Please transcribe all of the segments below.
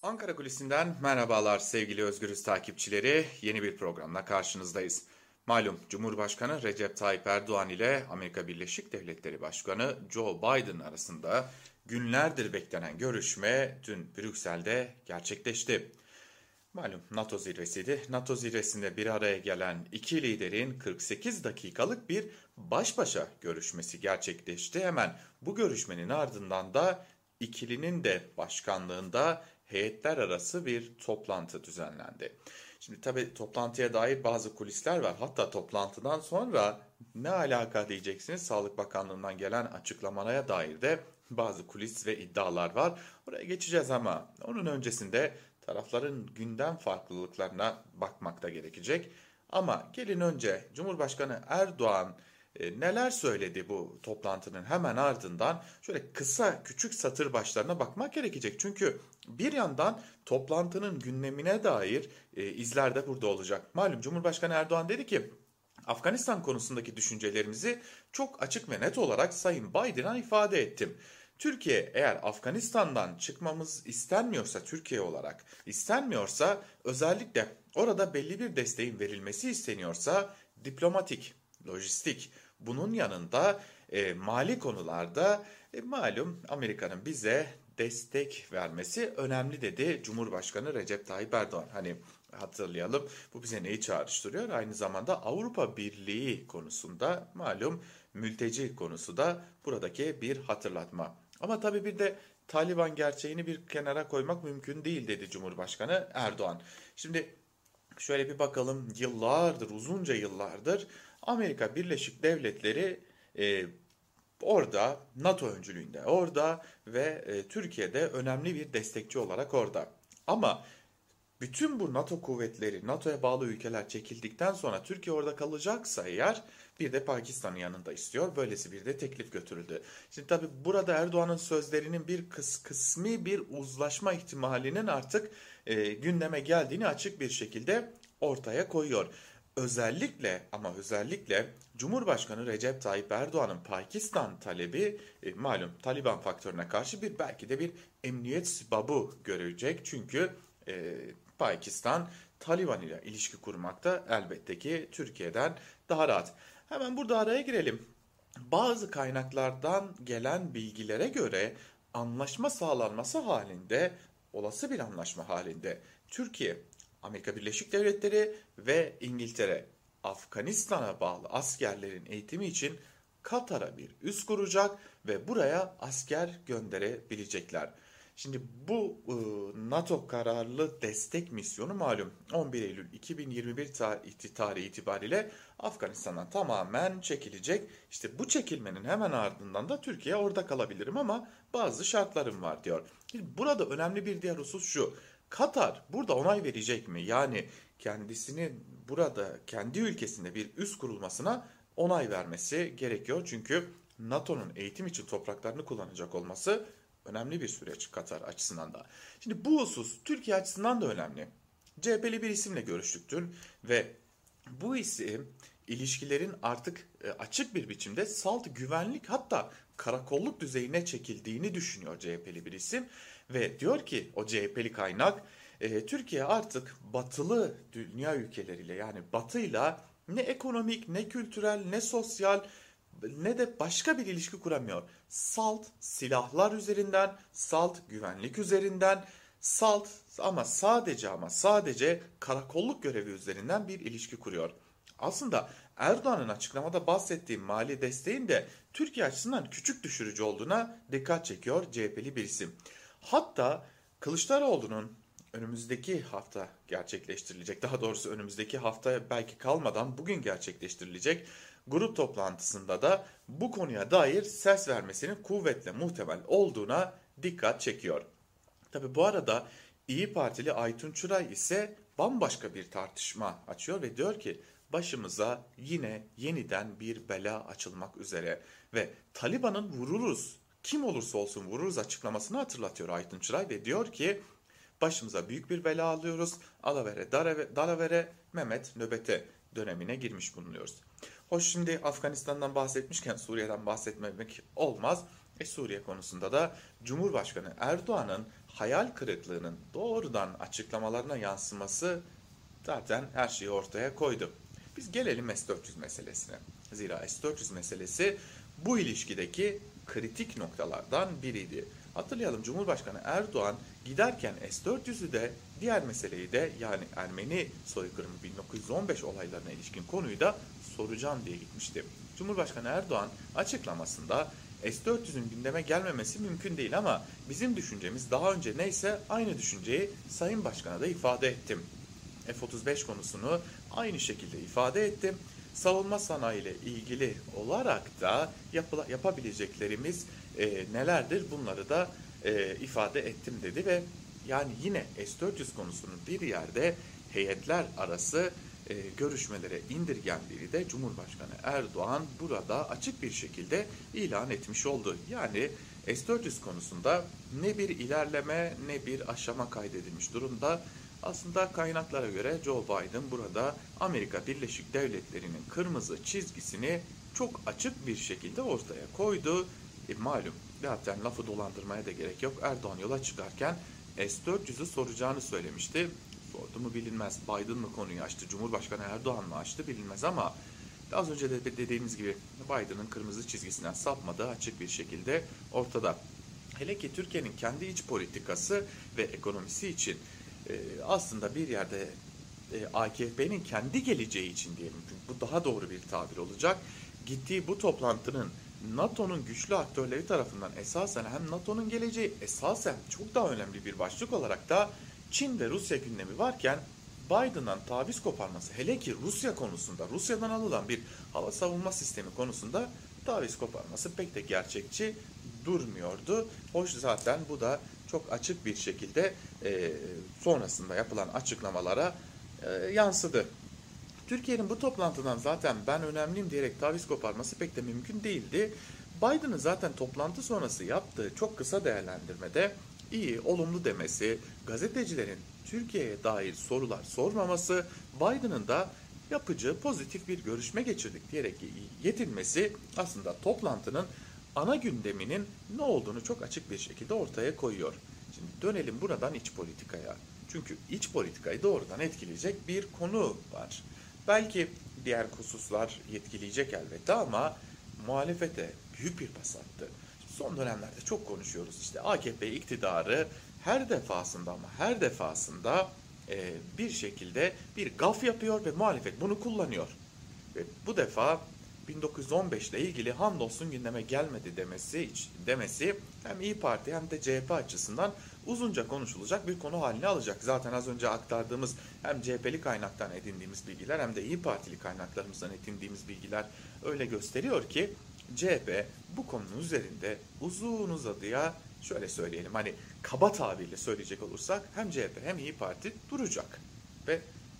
Ankara Kulisi'nden merhabalar sevgili Özgürüz takipçileri. Yeni bir programla karşınızdayız. Malum Cumhurbaşkanı Recep Tayyip Erdoğan ile Amerika Birleşik Devletleri Başkanı Joe Biden arasında günlerdir beklenen görüşme dün Brüksel'de gerçekleşti. Malum NATO zirvesiydi. NATO zirvesinde bir araya gelen iki liderin 48 dakikalık bir baş başa görüşmesi gerçekleşti. Hemen bu görüşmenin ardından da ikilinin de başkanlığında heyetler arası bir toplantı düzenlendi. Şimdi tabii toplantıya dair bazı kulisler var. Hatta toplantıdan sonra ne alaka diyeceksiniz, Sağlık Bakanlığı'ndan gelen açıklamalara dair de bazı kulis ve iddialar var. Oraya geçeceğiz ama onun öncesinde tarafların gündem farklılıklarına bakmak da gerekecek. Ama gelin önce Cumhurbaşkanı Erdoğan neler söyledi bu toplantının hemen ardından şöyle kısa küçük satır başlarına bakmak gerekecek. Çünkü bir yandan toplantının gündemine dair izler de burada olacak. Malum Cumhurbaşkanı Erdoğan dedi ki Afganistan konusundaki düşüncelerimizi çok açık ve net olarak Sayın Biden'a ifade ettim. Türkiye eğer Afganistan'dan çıkmamız istenmiyorsa, Türkiye olarak istenmiyorsa, özellikle orada belli bir desteğin verilmesi isteniyorsa diplomatik, lojistik, bunun yanında mali konularda malum Amerika'nın bize destek vermesi önemli dedi Cumhurbaşkanı Recep Tayyip Erdoğan. Hani hatırlayalım, bu bize neyi çağrıştırıyor? Aynı zamanda Avrupa Birliği konusunda malum mülteci konusu da buradaki bir hatırlatma. Ama tabii bir de Taliban gerçeğini bir kenara koymak mümkün değil dedi Cumhurbaşkanı Erdoğan. Şimdi şöyle bir bakalım, yıllardır, uzunca yıllardır Amerika Birleşik Devletleri orada, NATO öncülüğünde orada ve Türkiye'de önemli bir destekçi olarak orada. Ama bütün bu NATO kuvvetleri, NATO'ya bağlı ülkeler çekildikten sonra Türkiye orada kalacaksa eğer bir de Pakistan'ın yanında istiyor. Böylesi bir de teklif götürüldü. Şimdi tabii burada Erdoğan'ın sözlerinin bir kısmi bir uzlaşma ihtimalinin artık gündeme geldiğini açık bir şekilde ortaya koyuyor. Özellikle ama özellikle Cumhurbaşkanı Recep Tayyip Erdoğan'ın Pakistan talebi malum Taliban faktörüne karşı bir belki de bir emniyet babı görecek. Çünkü Pakistan Taliban ile ilişki kurmakta elbette ki Türkiye'den daha rahat. Hemen burada araya girelim. Bazı kaynaklardan gelen bilgilere göre anlaşma sağlanması halinde, olası bir anlaşma halinde Türkiye, Amerika Birleşik Devletleri ve İngiltere Afganistan'a bağlı askerlerin eğitimi için Katar'a bir üs kuracak ve buraya asker gönderebilecekler. Şimdi bu NATO kararlı destek misyonu malum 11 Eylül 2021 tarihi itibariyle Afganistan'dan tamamen çekilecek. İşte bu çekilmenin hemen ardından da Türkiye orada kalabilirim ama bazı şartlarım var diyor. Şimdi burada önemli bir diğer husus şu. Katar burada onay verecek mi? Yani kendisinin burada kendi ülkesinde bir üs kurulmasına onay vermesi gerekiyor. Çünkü NATO'nun eğitim için topraklarını kullanacak olması önemli bir süreç Katar açısından da. Şimdi bu husus Türkiye açısından da önemli. CHP'li bir isimle görüştük dün ve bu isim ilişkilerin artık açık bir biçimde salt güvenlik, hatta karakolluk düzeyine çekildiğini düşünüyor CHP'li bir isim. Ve diyor ki o CHP'li kaynak, Türkiye artık batılı dünya ülkeleriyle, yani batıyla ne ekonomik, ne kültürel, ne sosyal, ne de başka bir ilişki kuramıyor. Salt silahlar üzerinden, salt güvenlik üzerinden, salt ama sadece karakolluk görevi üzerinden bir ilişki kuruyor. Aslında Erdoğan'ın açıklamada bahsettiği mali desteğin de Türkiye açısından küçük düşürücü olduğuna dikkat çekiyor CHP'li bir isim. Hatta Kılıçdaroğlu'nun önümüzdeki hafta gerçekleştirilecek, daha doğrusu önümüzdeki hafta belki kalmadan bugün gerçekleştirilecek grup toplantısında da bu konuya dair ses vermesinin kuvvetle muhtemel olduğuna dikkat çekiyor. Tabi bu arada İyi Partili Aytun Çıray ise bambaşka bir tartışma açıyor ve diyor ki başımıza yine yeniden bir bela açılmak üzere ve Taliban'ın vururuz, kim olursa olsun vururuz açıklamasını hatırlatıyor Aytun Çıray ve diyor ki başımıza büyük bir bela alıyoruz. Alavere, dalavere, Mehmet nöbete dönemine girmiş bulunuyoruz. Hoş, şimdi Afganistan'dan bahsetmişken Suriye'den bahsetmemek olmaz. Suriye konusunda da Cumhurbaşkanı Erdoğan'ın hayal kırıklığının doğrudan açıklamalarına yansıması zaten her şeyi ortaya koydu. Biz gelelim S-400 meselesine. Zira S-400 meselesi bu ilişkideki kritik noktalardan biriydi. Hatırlayalım, Cumhurbaşkanı Erdoğan giderken S-400'ü de diğer meseleyi de, yani Ermeni soykırımı 1915 olaylarına ilişkin konuyu da soracağım diye gitmişti. Cumhurbaşkanı Erdoğan açıklamasında S-400'ün gündeme gelmemesi mümkün değil ama bizim düşüncemiz daha önce neyse aynı düşünceyi Sayın Başkan'a da ifade ettim. F-35 konusunu aynı şekilde ifade ettim. Savunma sanayi ile ilgili olarak da yapabileceklerimiz nelerdir, bunları da ifade ettim dedi ve yani yine S-400 konusunun bir yerde heyetler arası görüşmelere indirgendiğini de Cumhurbaşkanı Erdoğan burada açık bir şekilde ilan etmiş oldu. Yani S-400 konusunda ne bir ilerleme ne bir aşama kaydedilmiş durumda. Aslında kaynaklara göre Joe Biden burada Amerika Birleşik Devletleri'nin kırmızı çizgisini çok açık bir şekilde ortaya koydu. Malum, zaten lafı dolandırmaya da gerek yok. Erdoğan yola çıkarken S-400'ü soracağını söylemişti. Sordu mu bilinmez. Biden mı konuyu açtı, Cumhurbaşkanı Erdoğan mı açtı bilinmez ama az önce de dediğimiz gibi Biden'ın kırmızı çizgisinden sapmadığı açık bir şekilde ortada. Hele ki Türkiye'nin kendi iç politikası ve ekonomisi için aslında bir yerde AKP'nin kendi geleceği için diyelim, çünkü bu daha doğru bir tabir olacak. Gittiği bu toplantının NATO'nun güçlü aktörleri tarafından esasen hem NATO'nun geleceği esasen çok daha önemli bir başlık olarak da Çin ve Rusya gündemi varken Biden'dan taviz koparması, hele ki Rusya konusunda, Rusya'dan alınan bir hava savunma sistemi konusunda taviz koparması pek de gerçekçi durmuyordu. Hoş, zaten bu da çok açık bir şekilde sonrasında yapılan açıklamalara yansıdı. Türkiye'nin bu toplantıdan zaten ben önemliyim diyerek taviz koparması pek de mümkün değildi. Biden'ın zaten toplantı sonrası yaptığı çok kısa değerlendirmede iyi, olumlu demesi, gazetecilerin Türkiye'ye dair sorular sormaması, Biden'ın da yapıcı, pozitif bir görüşme geçirdik diyerek yetinmesi aslında toplantının ana gündeminin ne olduğunu çok açık bir şekilde ortaya koyuyor. Şimdi dönelim buradan iç politikaya. Çünkü iç politikayı doğrudan etkileyecek bir konu var. Belki diğer hususlar etkileyecek elbette ama muhalefete büyük bir pas attı. Son dönemlerde çok konuşuyoruz. İşte AKP iktidarı her defasında ama her defasında bir şekilde bir gaf yapıyor ve muhalefet bunu kullanıyor. Ve bu defa 1915 ile ilgili hamdolsun gündeme gelmedi demesi hem İyi Parti hem de CHP açısından uzunca konuşulacak bir konu haline alacak. Zaten az önce aktardığımız hem CHP'li kaynaktan edindiğimiz bilgiler hem de İyi Partili kaynaklarımızdan edindiğimiz bilgiler öyle gösteriyor ki CHP bu konunun üzerinde uzun uzadıya, şöyle söyleyelim, hani kaba tabirle söyleyecek olursak hem CHP hem İyi Parti duracak ve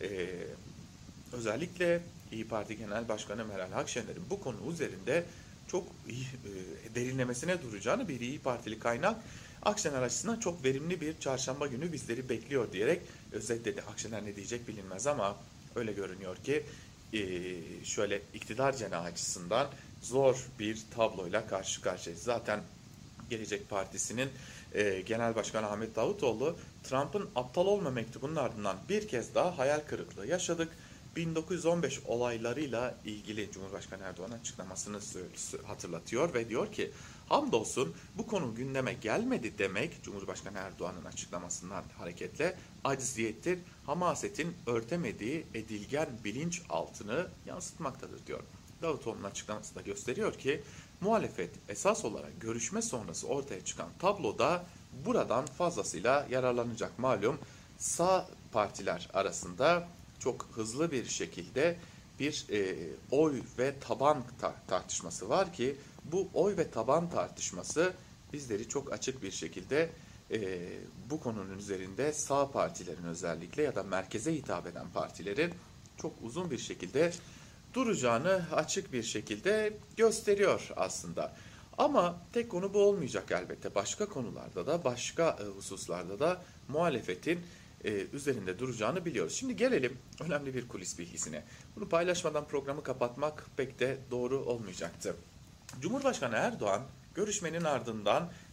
özellikle İyi Parti Genel Başkanı Meral Akşener'in bu konu üzerinde çok iyi derinlemesine duracağını bir İyi Partili kaynak Akşener açısından çok verimli bir çarşamba günü bizleri bekliyor diyerek özetledi. Akşener ne diyecek bilinmez ama öyle görünüyor ki şöyle iktidar cenahı açısından zor bir tabloyla karşı karşıyayız. Zaten Gelecek Partisi'nin Genel Başkanı Ahmet Davutoğlu, Trump'ın aptal olma mektubunun ardından bir kez daha hayal kırıklığı yaşadık. 1915 olaylarıyla ilgili Cumhurbaşkanı Erdoğan'ın açıklamasını hatırlatıyor ve diyor ki hamdolsun bu konu gündeme gelmedi demek Cumhurbaşkanı Erdoğan'ın açıklamasından hareketle acziyettir, hamasetin örtemediği edilgen bilinç altını yansıtmaktadır diyor. Davutoğlu'nun açıklaması da gösteriyor ki muhalefet esas olarak görüşme sonrası ortaya çıkan tabloda buradan fazlasıyla yararlanacak. Malum sağ partiler arasında çok hızlı bir şekilde bir oy ve taban tartışması var ki bu oy ve taban tartışması bizleri çok açık bir şekilde bu konunun üzerinde sağ partilerin özellikle ya da merkeze hitap eden partilerin çok uzun bir şekilde duracağını açık bir şekilde gösteriyor aslında. Ama tek konu bu olmayacak elbette. Başka konularda da, başka hususlarda da muhalefetin üzerinde duracağını biliyoruz. Şimdi gelelim önemli bir kulis bilgisine. Bunu paylaşmadan programı kapatmak pek de doğru olmayacaktı. Cumhurbaşkanı Erdoğan görüşmenin ardından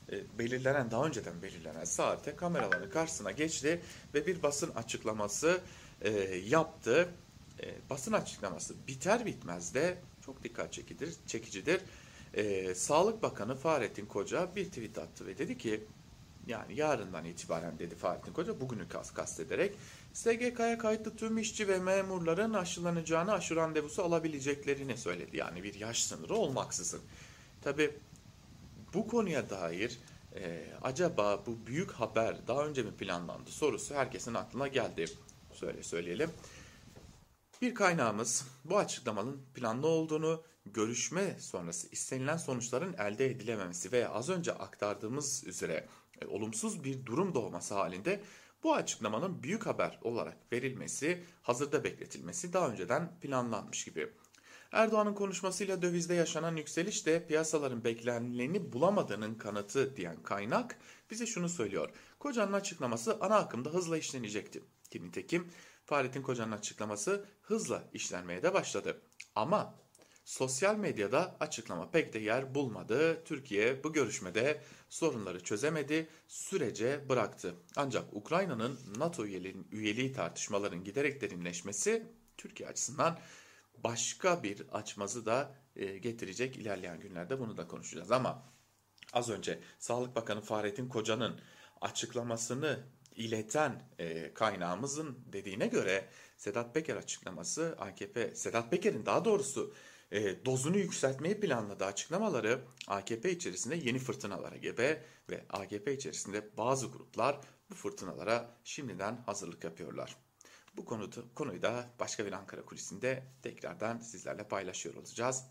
daha önceden belirlenen saate kameraların karşısına geçti ve bir basın açıklaması yaptı. Basın açıklaması biter bitmez de çok dikkat çekicidir. Sağlık Bakanı Fahrettin Koca bir tweet attı ve dedi ki, yani yarından itibaren dedi Fahrettin Koca, bugünü kastederek, SGK'ya kayıtlı tüm işçi ve memurların aşılanacağını, aşı randevusu alabileceklerini söyledi. Yani bir yaş sınırı olmaksızın. Tabii bu konuya dair acaba bu büyük haber daha önce mi planlandı sorusu herkesin aklına geldi. Söyleyelim. Bir kaynağımız bu açıklamanın planlı olduğunu, görüşme sonrası istenilen sonuçların elde edilememesi veya az önce aktardığımız üzere olumsuz bir durum doğması halinde bu açıklamanın büyük haber olarak verilmesi, hazırda bekletilmesi daha önceden planlanmış gibi. Erdoğan'ın konuşmasıyla dövizde yaşanan yükseliş de piyasaların beklenileni bulamadığının kanıtı diyen kaynak bize şunu söylüyor. Koca'nın açıklaması ana akımda hızla işlenecekti. Nitekim Fahrettin Koca'nın açıklaması hızla işlenmeye de başladı. Ama sosyal medyada açıklama pek de yer bulmadı. Türkiye bu görüşmede sorunları çözemedi, sürece bıraktı. Ancak Ukrayna'nın NATO üyeliği tartışmaların giderek derinleşmesi Türkiye açısından başka bir açmazı da getirecek. İlerleyen günlerde bunu da konuşacağız. Ama az önce Sağlık Bakanı Fahrettin Koca'nın açıklamasını ileten kaynağımızın dediğine göre Sedat Peker açıklaması, Sedat Peker'in daha doğrusu dozunu yükseltmeyi planladığı açıklamaları AKP içerisinde yeni fırtınalara gebe ve AKP içerisinde bazı gruplar bu fırtınalara şimdiden hazırlık yapıyorlar. Bu konuyu da başka bir Ankara kulisinde tekrardan sizlerle paylaşıyor olacağız.